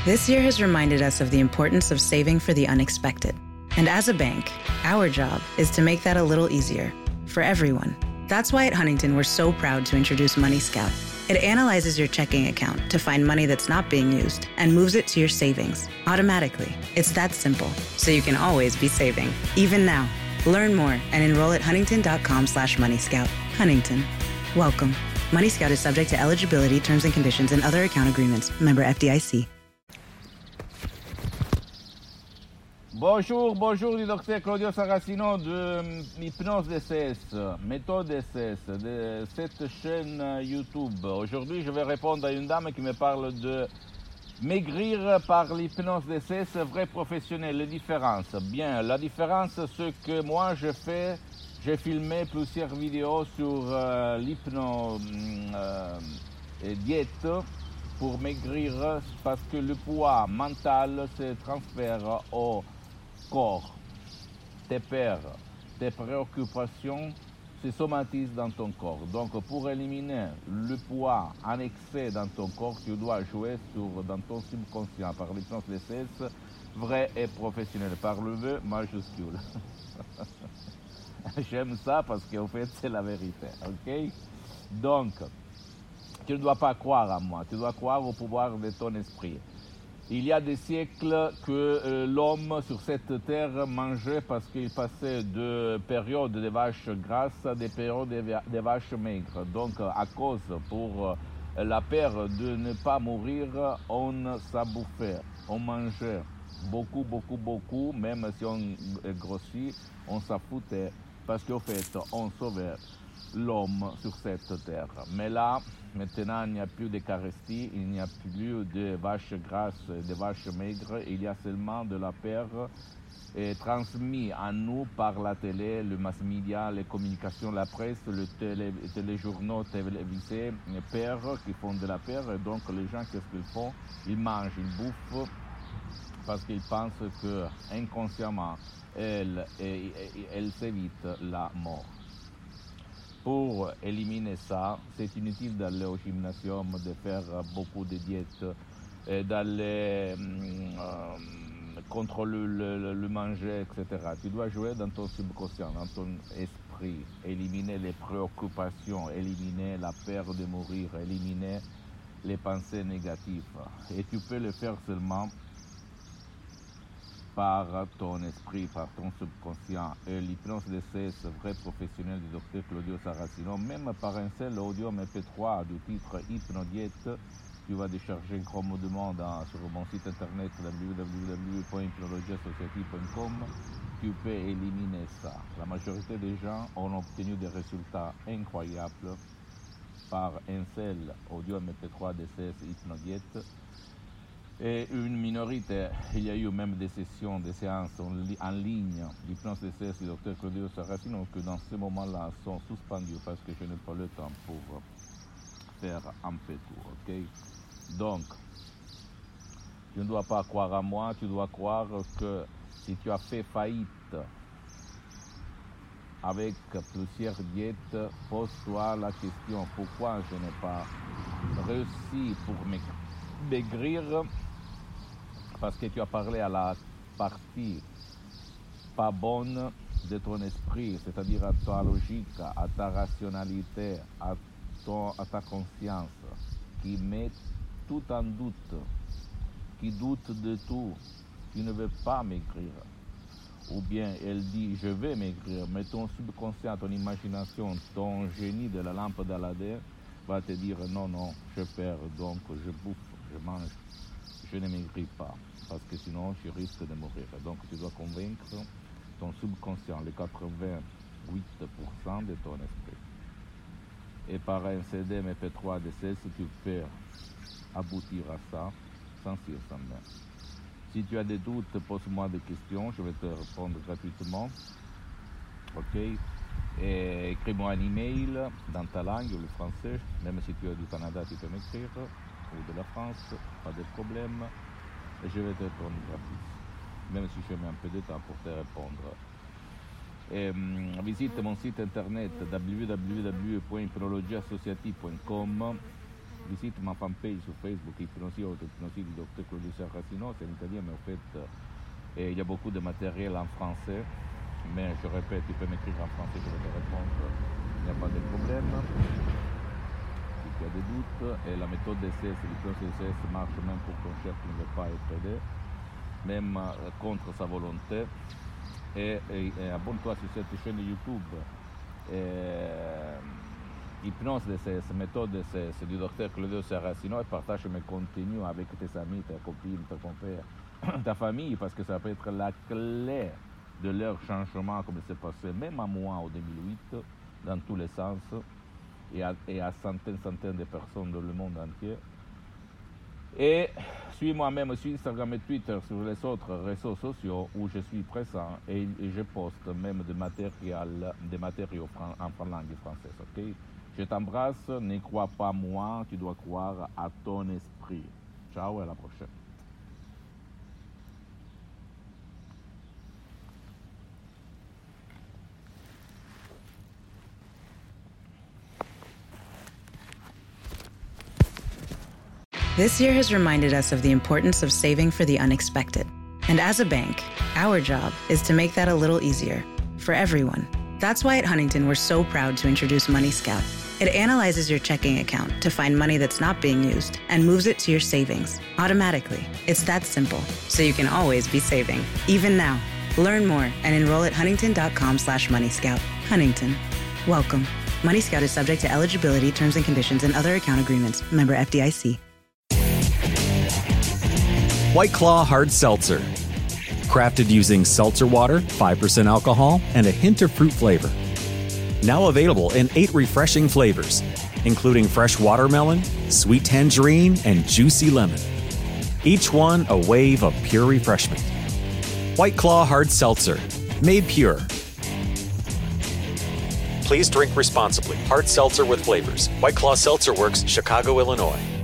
This year has reminded us of the importance of saving for the unexpected. And as a bank, our job is to make that a little easier for everyone. That's why at Huntington, we're so proud to introduce Money Scout. It analyzes your checking account to find money that's not being used and moves it to your savings automatically. It's that simple, so you can always be saving, even now. Learn more and enroll at huntington.com/moneyscout. Huntington. Welcome. Money Scout is subject to eligibility, terms and conditions, and other account agreements. Member FDIC. Bonjour du docteur Claudio Saracino de Hypnose DCS, méthode DCS, de cette chaîne YouTube. Aujourd'hui, je vais répondre à une dame qui me parle de maigrir par l'hypnose DCS, vrai professionnel, les différences. Bien, la différence, c'est que moi, j'ai filmé plusieurs vidéos sur l'hypnose diète pour maigrir parce que le poids mental se transfère au corps, tes peurs, tes préoccupations se somatisent dans ton corps. Donc pour éliminer le poids en excès dans ton corps, tu dois jouer dans ton subconscient par l'hypnose DCS, vrai et professionnel, par le V majuscule. J'aime ça parce qu'en fait c'est la vérité, ok? Donc, tu ne dois pas croire à moi, tu dois croire au pouvoir de ton esprit. Il y a des siècles que l'homme sur cette terre mangeait parce qu'il passait de périodes de vaches grasses à des périodes de vaches maigres. Donc, à cause, pour la peur de ne pas mourir, on s'abouffait, on mangeait beaucoup, même si on grossit, on s'en foutait parce qu'au fait, on sauvait l'homme sur cette terre. Mais là, maintenant, il n'y a plus d'Eucharistie, il n'y a plus de vaches grasses, de vaches maigres, il y a seulement de la peur transmise à nous par la télé, le mass media, les communications, la presse, les téléjournaux télévisés, les peurs qui font de la peur. Et donc, les gens, qu'est-ce qu'ils font? Ils mangent, ils bouffent parce qu'ils pensent que inconsciemment, elles évitent la mort. Pour éliminer ça, c'est inutile d'aller au gymnasium, de faire beaucoup de diètes, d'aller contrôler le manger, etc. Tu dois jouer dans ton subconscient, dans ton esprit, éliminer les préoccupations, éliminer la peur de mourir, éliminer les pensées négatives. Et tu peux le faire seulement par ton esprit, par ton subconscient. Et l'hypnose DCS, vrai professionnel du docteur Claudio Saracino, même par un seul audio MP3 du titre Hypnodiète, tu vas décharger commodément sur mon site internet www.hypnologiasociety.com, tu peux éliminer ça. La majorité des gens ont obtenu des résultats incroyables par un seul audio MP3 DCS Hypnodiète. Et une minorité, il y a eu même des sessions, des séances en ligne d'hypnose DCS du docteur Claudio Saracino que dans ce moment-là sont suspendues parce que je n'ai pas le temps pour faire un peu tout, ok? Donc, tu ne dois pas croire à moi, tu dois croire que si tu as fait faillite avec plusieurs diètes, pose-toi la question, pourquoi je n'ai pas réussi pour maigrir? Parce que tu as parlé à la partie pas bonne de ton esprit, c'est-à-dire à ta logique, à ta rationalité, à ta conscience, qui met tout en doute, qui doute de tout, qui ne veut pas maigrir. Ou bien elle dit je vais maigrir, mais ton subconscient, ton imagination, ton génie de la lampe d'Aladin va te dire non, je perds, donc je bouffe, je mange, je ne maigris pas, parce que sinon je risque de mourir. Donc tu dois convaincre ton subconscient, les 88% de ton esprit. Et par un CD MP3 DCS, tu peux aboutir à ça sans cire, sans main. Si tu as des doutes, pose-moi des questions, je vais te répondre gratuitement. Ok? Et écris-moi un email dans ta langue, le français, même si tu es du Canada, tu peux m'écrire, ou de la France, pas de problème, et je vais te répondre gratuit, même si je mets un peu de temps pour te répondre. Et, visite mon site internet www.hypnologiasociety.com visite ma fanpage sur Facebook, Hypnosie du Dr Claudio Saracino, c'est en italien, mais en fait, il y a beaucoup de matériel en français. Mais je répète, tu peux m'écrire en français, je vais te répondre, il n'y a pas de problème. Si tu as des doutes, et la méthode DCS, l'hypnose DCS marche même pour ton chef qui ne veut pas être aidé, même contre sa volonté. Et abonne-toi sur cette chaîne YouTube. Hypnose DCS, méthode DCS du Dr Claudio Saracino, et partage mes contenus avec tes amis, ta copine, ton compère, ta famille, parce que ça peut être la clé de leur changement, comme c'est passé même à moi en 2008, dans tous les sens, et à centaines de personnes dans le monde entier. Et suis-moi même sur Instagram et Twitter, sur les autres réseaux sociaux où je suis présent, et je poste même des matériaux en langue française. Okay? Je t'embrasse, ne crois pas moi, tu dois croire à ton esprit. Ciao et à la prochaine. This year has reminded us of the importance of saving for the unexpected. And as a bank, our job is to make that a little easier for everyone. That's why at Huntington, we're so proud to introduce Money Scout. It analyzes your checking account to find money that's not being used and moves it to your savings automatically. It's that simple, so you can always be saving, even now. Learn more and enroll at huntington.com/moneyscout. Huntington. Welcome. Money Scout is subject to eligibility, terms and conditions, and other account agreements. Member FDIC. White Claw Hard Seltzer. Crafted using seltzer water, 5% alcohol, and a hint of fruit flavor. Now available in 8 refreshing flavors, including fresh watermelon, sweet tangerine, and juicy lemon. Each one a wave of pure refreshment. White Claw Hard Seltzer. Made pure. Please drink responsibly. Hard seltzer with flavors. White Claw Seltzer Works, Chicago, Illinois.